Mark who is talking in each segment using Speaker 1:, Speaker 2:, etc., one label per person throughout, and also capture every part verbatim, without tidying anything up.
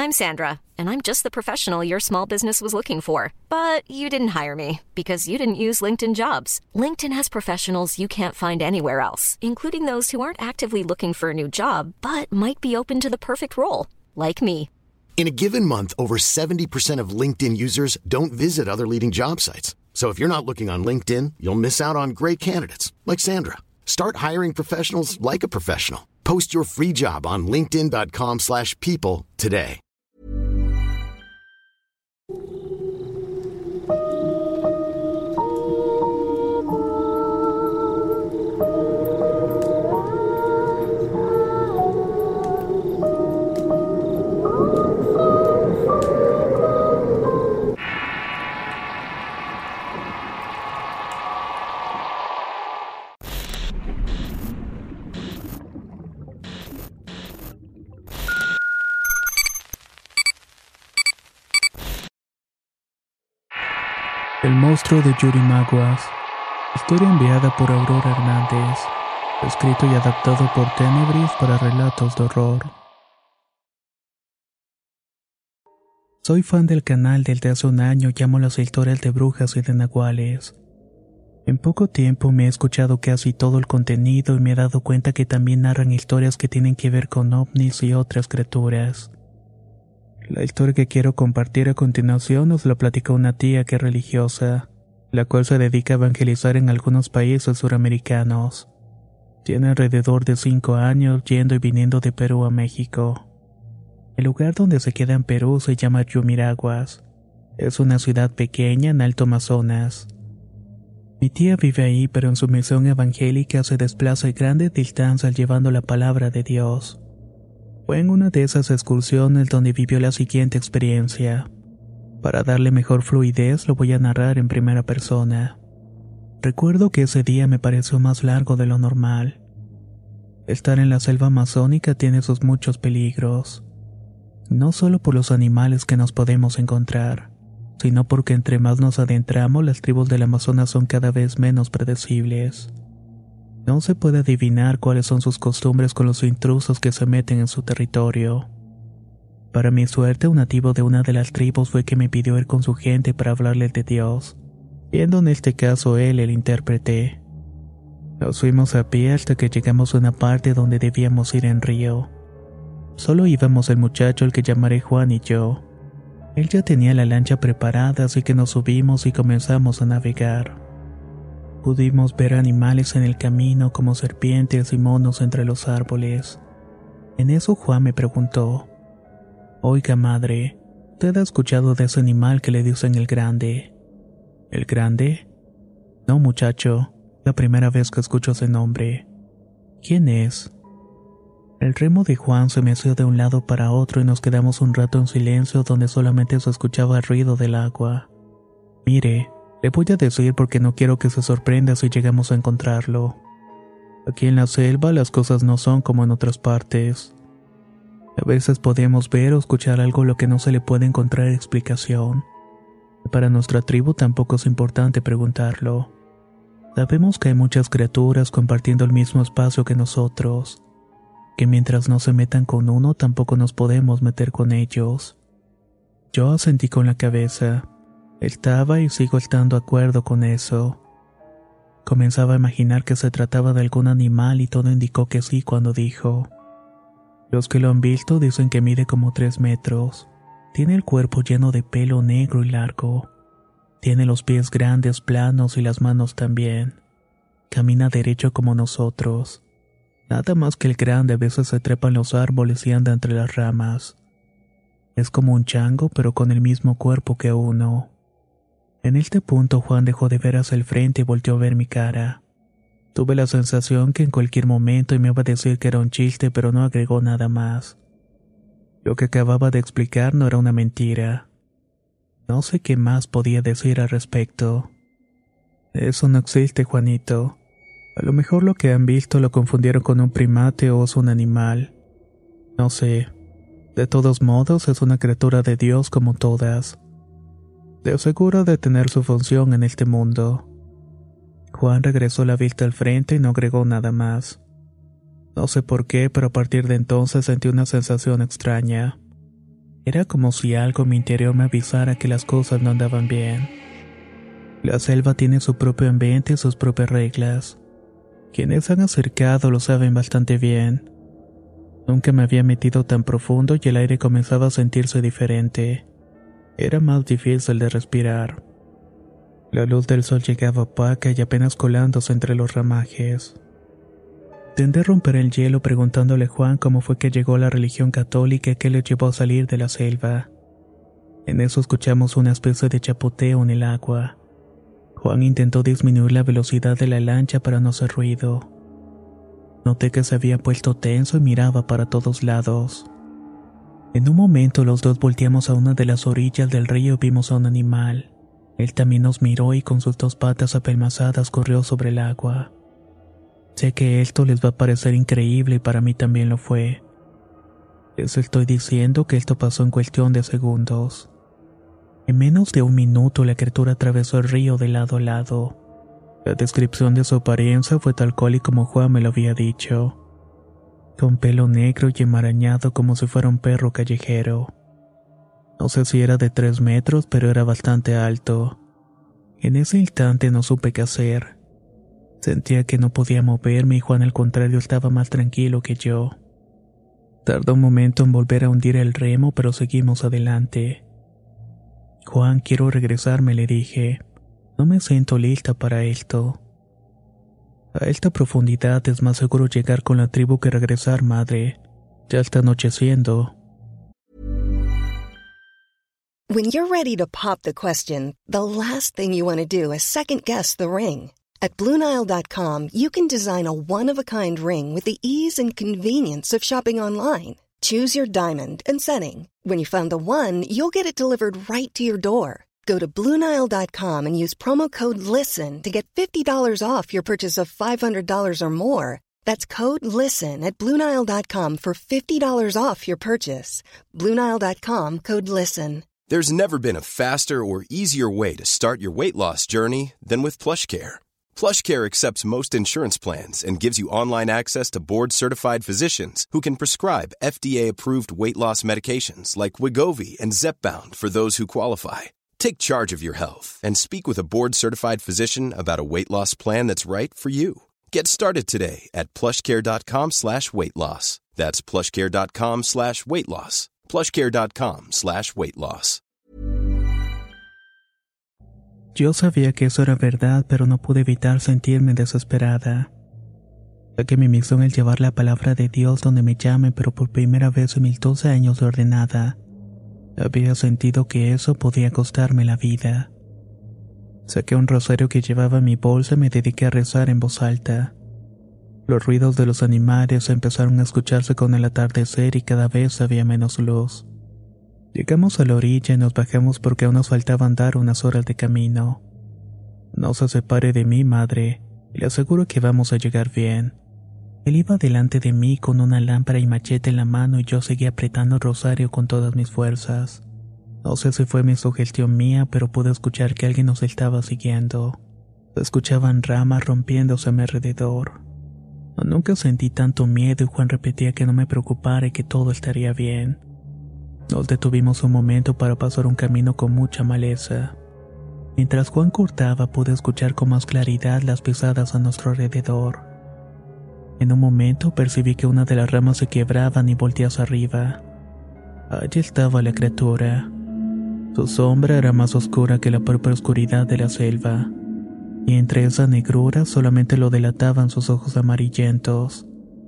Speaker 1: I'm Sandra, and I'm just the professional your small business was looking for. But you didn't hire me because you didn't use LinkedIn Jobs. LinkedIn has professionals you can't find anywhere else, including those who aren't actively looking for a new job, but might be open to the perfect role, like me.
Speaker 2: In a given month, over seventy percent of LinkedIn users don't visit other leading job sites. So if you're not looking on LinkedIn, you'll miss out on great candidates like Sandra. Start hiring professionals like a professional. Post your free job on linkedin.com slash people today.
Speaker 3: El monstruo de Yurimaguas. Historia enviada por Aurora Hernández. Escrito y adaptado por Tenebris para relatos de horror. Soy fan del canal desde hace un año y amo las historias de brujas y de nahuales. En poco tiempo me he escuchado casi todo el contenido y me he dado cuenta que también narran historias que tienen que ver con ovnis y otras criaturas. La historia que quiero compartir a continuación nos la platicó una tía que es religiosa, la cual se dedica a evangelizar en algunos países suramericanos. Tiene alrededor de cinco años yendo y viniendo de Perú a México. El lugar donde se queda en Perú se llama Yumiraguas. Es una ciudad pequeña en Alto Amazonas. Mi tía vive ahí, pero en su misión evangélica se desplaza a grandes distancias llevando la palabra de Dios. Fue en una de esas excursiones donde vivió la siguiente experiencia. Para darle mejor fluidez lo voy a narrar en primera persona. Recuerdo que ese día me pareció más largo de lo normal. Estar en la selva amazónica tiene sus muchos peligros. No solo por los animales que nos podemos encontrar, sino porque entre más nos adentramos las tribus del Amazonas son cada vez menos predecibles. No se puede adivinar cuáles son sus costumbres con los intrusos que se meten en su territorio. Para mi suerte, un nativo de una de las tribus fue que me pidió ir con su gente para hablarle de Dios, siendo en este caso él el intérprete. Nos fuimos a pie hasta que llegamos a una parte donde debíamos ir en río. Solo íbamos el muchacho al que llamaré Juan y yo. Él ya tenía la lancha preparada, así que nos subimos y comenzamos a navegar. Pudimos ver animales en el camino como serpientes y monos entre los árboles. En eso Juan me preguntó: «Oiga, madre, ¿usted ha escuchado de ese animal que le dicen el grande?» ¿El grande? No, muchacho, la primera vez que escucho ese nombre. ¿Quién es? El remo de Juan se meció de un lado para otro y nos quedamos un rato en silencio donde solamente se escuchaba el ruido del agua. Mire, le voy a decir porque no quiero que se sorprenda si llegamos a encontrarlo. Aquí en la selva las cosas no son como en otras partes. A veces podemos ver o escuchar algo lo que no se le puede encontrar explicación. Para nuestra tribu tampoco es importante preguntarlo. Sabemos que hay muchas criaturas compartiendo el mismo espacio que nosotros, que mientras no se metan con uno tampoco nos podemos meter con ellos. Yo asentí con la cabeza. Estaba y sigo estando de acuerdo con eso. Comenzaba a imaginar que se trataba de algún animal y todo indicó que sí cuando dijo: «Los que lo han visto dicen que mide como tres metros. Tiene el cuerpo lleno de pelo negro y largo. Tiene los pies grandes, planos y las manos también. Camina derecho como nosotros. Nada más que el grande a veces se trepa en los árboles y anda entre las ramas. Es como un chango pero con el mismo cuerpo que uno». En este punto Juan dejó de ver hacia el frente y volteó a ver mi cara. Tuve la sensación que en cualquier momento me iba a decir que era un chiste, pero no agregó nada más. Lo que acababa de explicar no era una mentira. No sé qué más podía decir al respecto. Eso no existe, Juanito. A lo mejor lo que han visto lo confundieron con un primate o es un animal. No sé. De todos modos es una criatura de Dios como todas. De seguro de tener su función en este mundo. Juan regresó la vista al frente y no agregó nada más. No sé por qué, pero a partir de entonces sentí una sensación extraña. Era como si algo en mi interior me avisara que las cosas no andaban bien. La selva tiene su propio ambiente y sus propias reglas. Quienes han acercado lo saben bastante bien. Nunca me había metido tan profundo y el aire comenzaba a sentirse diferente. Era más difícil de respirar. La luz del sol llegaba opaca y apenas colándose entre los ramajes. Intenté romper el hielo preguntándole a Juan cómo fue que llegó a la religión católica y qué le llevó a salir de la selva. En eso escuchamos una especie de chapoteo en el agua. Juan intentó disminuir la velocidad de la lancha para no hacer ruido. Noté que se había puesto tenso y miraba para todos lados. En un momento los dos volteamos a una de las orillas del río y vimos a un animal. Él también nos miró y con sus dos patas apelmazadas corrió sobre el agua. Sé que esto les va a parecer increíble y para mí también lo fue. Les estoy diciendo que esto pasó en cuestión de segundos. En menos de un minuto la criatura atravesó el río de lado a lado. La descripción de su apariencia fue tal cual y como Juan me lo había dicho. Con pelo negro y enmarañado como si fuera un perro callejero. No sé si era de tres metros, pero era bastante alto. En ese instante no supe qué hacer. Sentía que no podía moverme y Juan al contrario estaba más tranquilo que yo. Tardó un momento en volver a hundir el remo, pero seguimos adelante. Juan, quiero regresarme, le dije. No me siento lista para esto. A esta profundidad es más seguro llegar con la tribu que regresar, madre. Ya está anocheciendo.
Speaker 4: When you're ready to pop the question, the last thing you want to do is second guess the ring. At Blue Nile dot com, you can design a one-of-a-kind ring with the ease and convenience of shopping online. Choose your diamond and setting. When you find the one, you'll get it delivered right to your door. Go to Blue Nile dot com and use promo code LISTEN to get fifty dollars off your purchase of five hundred dollars or more. That's code LISTEN at Blue Nile dot com for fifty dollars off your purchase. Blue Nile dot com, code LISTEN.
Speaker 5: There's never been a faster or easier way to start your weight loss journey than with PlushCare. PlushCare accepts most insurance plans and gives you online access to board-certified physicians who can prescribe F D A-approved weight loss medications like Wegovy and Zepbound for those who qualify. Take charge of your health and speak with a board-certified physician about a weight loss plan that's right for you. Get started today at plushcare.com slash weight loss. That's plushcare.com slash weight loss. plushcare.com slash weight loss.
Speaker 3: Yo sabía que eso era verdad, pero no pude evitar sentirme desesperada. Ya que mi misión es llevar la palabra de Dios donde me llame, pero por primera vez en mis doce años de ordenada, había sentido que eso podía costarme la vida. Saqué un rosario que llevaba en mi bolsa y me dediqué a rezar en voz alta. Los ruidos de los animales empezaron a escucharse con el atardecer y cada vez había menos luz. Llegamos a la orilla y nos bajamos porque aún nos faltaban dar unas horas de camino. No se separe de mí, madre, y le aseguro que vamos a llegar bien. Él iba delante de mí con una lámpara y machete en la mano y yo seguía apretando el rosario con todas mis fuerzas. No sé si fue mi sugestión mía, pero pude escuchar que alguien nos estaba siguiendo. Se escuchaban ramas rompiéndose a mi alrededor. Nunca sentí tanto miedo y Juan repetía que no me preocupara y que todo estaría bien. Nos detuvimos un momento para pasar un camino con mucha maleza. Mientras Juan cortaba pude escuchar con más claridad las pisadas a nuestro alrededor. En un momento percibí que una de las ramas se quebraban y volteé hacia arriba. Allí estaba la criatura. Su sombra era más oscura que la propia oscuridad de la selva, y entre esa negrura solamente lo delataban sus ojos amarillentos.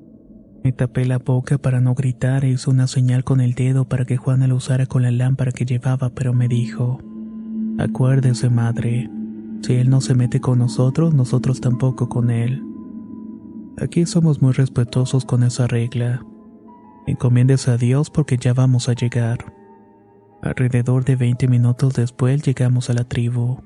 Speaker 3: Me tapé la boca para no gritar e hice una señal con el dedo para que Juana lo usara con la lámpara que llevaba, pero me dijo: acuérdese, madre, si él no se mete con nosotros, nosotros tampoco con él. Aquí somos muy respetuosos con esa regla. Encomiéndese a Dios porque ya vamos a llegar. Alrededor de veinte minutos después llegamos a la tribu.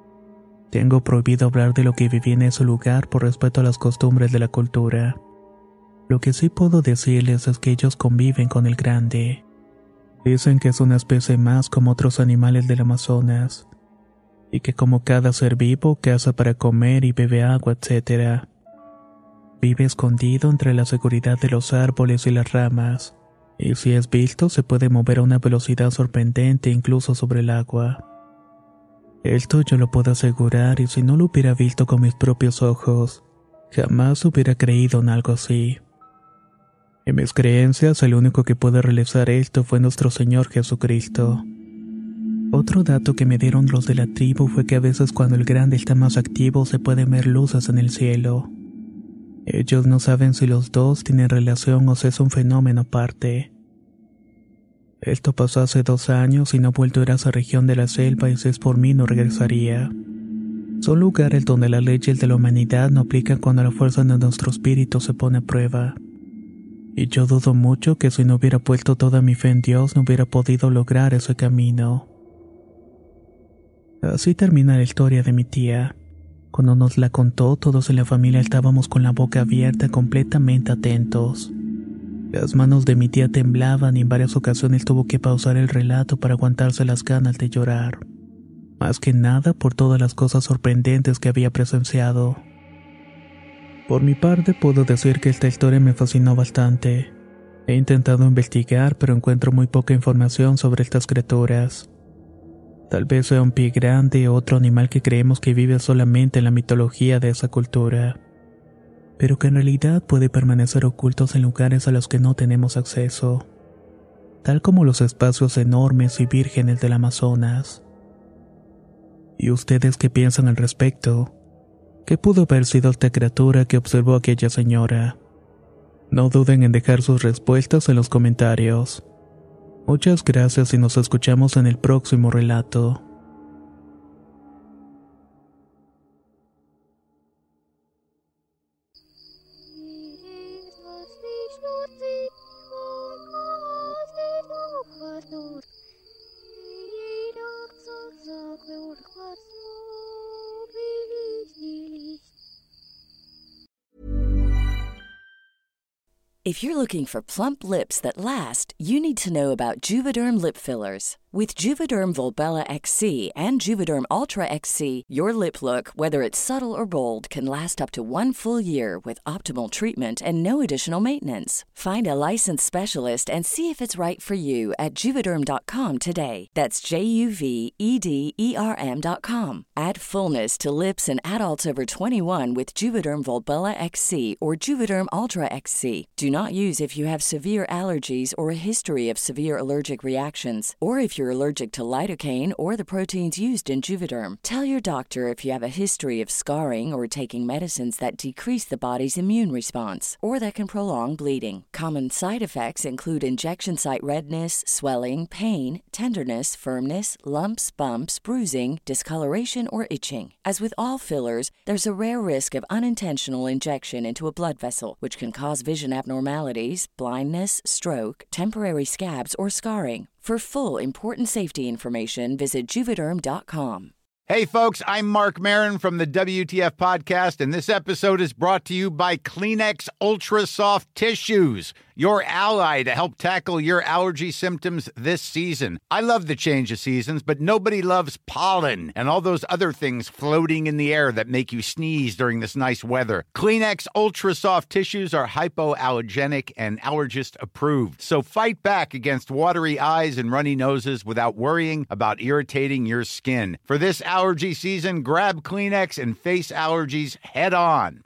Speaker 3: Tengo prohibido hablar de lo que viví en ese lugar por respeto a las costumbres de la cultura. Lo que sí puedo decirles es que ellos conviven con el grande. Dicen que es una especie más como otros animales del Amazonas, y que como cada ser vivo caza para comer y bebe agua, etcétera. Vive escondido entre la seguridad de los árboles y las ramas, Y si es visto, se puede mover a una velocidad sorprendente incluso sobre el agua. Esto yo lo puedo asegurar, y si no lo hubiera visto con mis propios ojos, jamás hubiera creído en algo así. En mis creencias, el único que puede realizar esto fue nuestro Señor Jesucristo. Otro dato que me dieron los de la tribu fue que a veces cuando el grande está más activo se pueden ver luces en el cielo. Ellos no saben si los dos tienen relación o si es un fenómeno aparte. Esto pasó hace dos años y no he vuelto a ir a esa región de la selva, y si es por mí no regresaría. Son lugares donde las leyes de la humanidad no aplican cuando la fuerza de nuestro espíritu se pone a prueba. Y yo dudo mucho que si no hubiera puesto toda mi fe en Dios no hubiera podido lograr ese camino. Así termina la historia de mi tía. Cuando nos la contó, todos en la familia estábamos con la boca abierta, completamente atentos. Las manos de mi tía temblaban y en varias ocasiones tuvo que pausar el relato para aguantarse las ganas de llorar. Más que nada por todas las cosas sorprendentes que había presenciado. Por mi parte, puedo decir que esta historia me fascinó bastante. He intentado investigar, pero encuentro muy poca información sobre estas criaturas. Tal vez sea un pie grande o otro animal que creemos que vive solamente en la mitología de esa cultura, pero que en realidad puede permanecer ocultos en lugares a los que no tenemos acceso, tal como los espacios enormes y vírgenes del Amazonas. ¿Y ustedes qué piensan al respecto? ¿Qué pudo haber sido esta criatura que observó aquella señora? No duden en dejar sus respuestas en los comentarios. Muchas gracias y nos escuchamos en el próximo relato.
Speaker 6: If you're looking for plump lips that last, you need to know about Juvederm lip fillers. With Juvederm Volbella X C and Juvederm Ultra X C, your lip look, whether it's subtle or bold, can last up to one full year with optimal treatment and no additional maintenance. Find a licensed specialist and see if it's right for you at Juvederm dot com today. That's J U V E D E R M dot com. Add fullness to lips in adults over twenty-one with Juvederm Volbella X C or Juvederm Ultra X C. Do not use if you have severe allergies or a history of severe allergic reactions, or if you're allergic to lidocaine or the proteins used in Juvederm. Tell your doctor if you have a history of scarring or taking medicines that decrease the body's immune response or that can prolong bleeding. Common side effects include injection site redness, swelling, pain, tenderness, firmness, lumps, bumps, bruising, discoloration, or itching. As with all fillers, there's a rare risk of unintentional injection into a blood vessel, which can cause vision abnormalities, blindness, stroke, temporary scabs, or scarring. For full, important safety information, visit Juvederm dot com.
Speaker 7: Hey, folks, I'm Mark Maron from the W T F Podcast, and this episode is brought to you by Kleenex Ultra Soft Tissues, your ally to help tackle your allergy symptoms this season. I love the change of seasons, but nobody loves pollen and all those other things floating in the air that make you sneeze during this nice weather. Kleenex Ultra Soft Tissues are hypoallergenic and allergist approved, so fight back against watery eyes and runny noses without worrying about irritating your skin. For this allergy season, grab Kleenex and face allergies head on.